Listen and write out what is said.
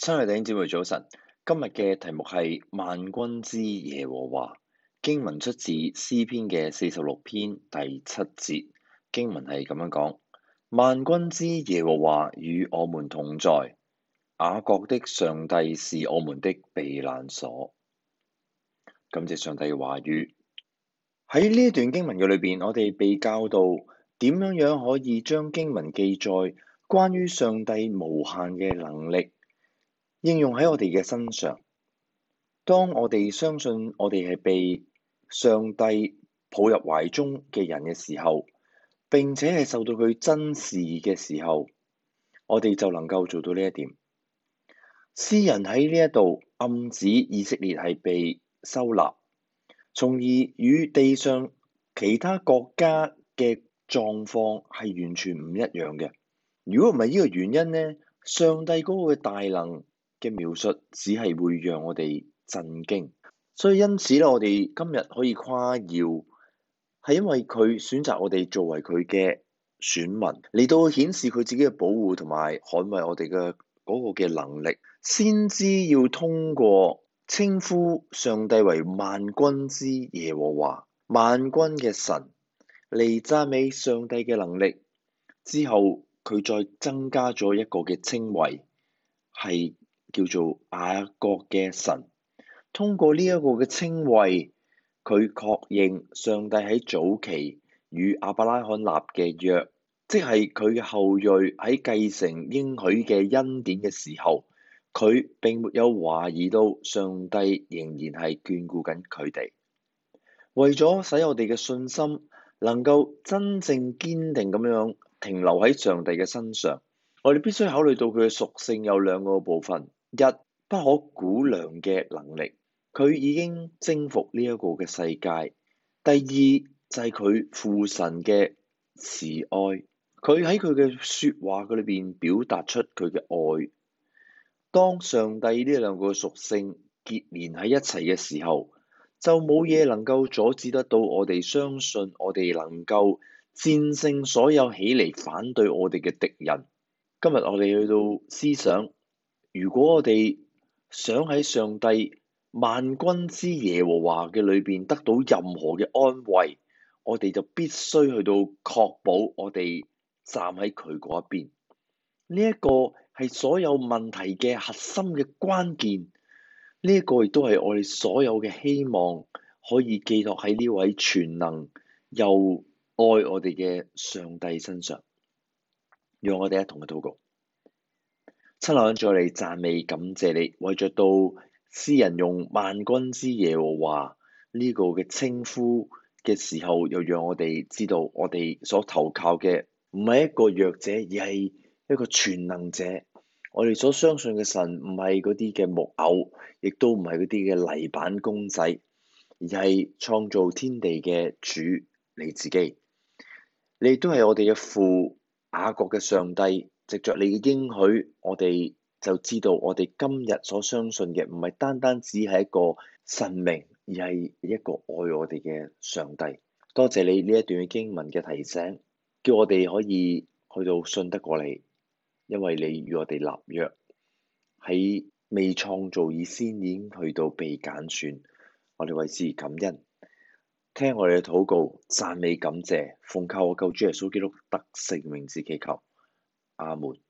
親愛弟兄姊妹早晨，今日嘅題目係萬軍之耶和華。經文出自詩篇嘅46篇第7節，經文係咁樣講：萬軍之耶和華與我們同在，雅各的上帝是我們的避難所。感謝上帝嘅話語。喺呢一段經文嘅裏邊，我哋被教導點樣可以將經文記載關於上帝無限嘅能力應用喺我哋嘅身上。當我哋相信我哋係被上帝抱入懷中嘅人嘅時候，並且係受到佢珍視嘅時候，我哋就能夠做到呢一點。詩人喺呢一度暗指以色列係被收納，從而與地上其他國家嘅狀況係完全唔一樣嘅。如果唔係呢個原因呢，上帝嗰個嘅大能嘅描述只係會讓我哋震驚。所以因此咧，我哋今日可以誇耀，係因為佢選擇我哋作為佢嘅選民，嚟到顯示佢自己嘅保護同埋捍衛我哋嘅嗰個嘅能力，先知要通過稱呼上帝為萬軍之耶和華，萬軍嘅神，嚟讚美上帝嘅能力。之後佢再增加咗一個嘅稱謂，係叫做雅各嘅神。通過呢一個嘅稱謂，佢確認上帝喺早期與亞伯拉罕立嘅約，即係佢嘅後裔喺繼承應許嘅恩典嘅時候，佢並沒有懷疑到上帝仍然係眷顧緊佢哋。為咗使我哋嘅信心能夠真正堅定咁樣停留喺上帝嘅身上，我哋必須考慮到佢嘅屬性有兩個部分：一，不可估量嘅能力。佢已經征服呢一個嘅世界。第二就係佢父神嘅慈愛，佢喺佢嘅説話嘅裏邊表達出佢嘅愛。當上帝呢兩個屬性結連喺一齊嘅時候，就冇嘢能夠阻止得到我哋相信我哋能夠戰勝所有起嚟反對我哋嘅敵人。今日我哋去到思想，如果我哋想喺上帝萬軍之耶和華嘅裏邊得到任何嘅安慰，我哋就必須去到確保我哋站喺佢嗰一邊。呢一個係所有問題嘅核心嘅關鍵。呢一個亦都係我哋所有嘅希望，可以寄託喺呢位全能又愛我哋嘅上帝身上。讓我哋一同去禱告。親愛嘅主，我哋讚美感謝你，為着到詩人用萬軍之耶和華呢個嘅稱呼嘅時候，又讓我哋知道我哋所投靠嘅唔係一個弱者，而係一個全能者。我哋所相信嘅神唔係嗰啲嘅木偶，亦都唔係嗰啲嘅泥板公仔，而係創造天地嘅主你自己。你都係我哋嘅父，雅各嘅上帝。藉着你嘅應許，我哋就知道我哋今日所相信嘅唔係單單只係一個神明，而係一個愛我哋嘅上帝。多謝你呢一段經文嘅提醒，叫我哋可以去到信得過你，因為你與我哋立約，喺未創造以先已經去到被揀選，我哋為之感恩。聽我哋嘅禱告，讚美感謝，奉靠我救主耶穌基督得勝名字祈求。阿門。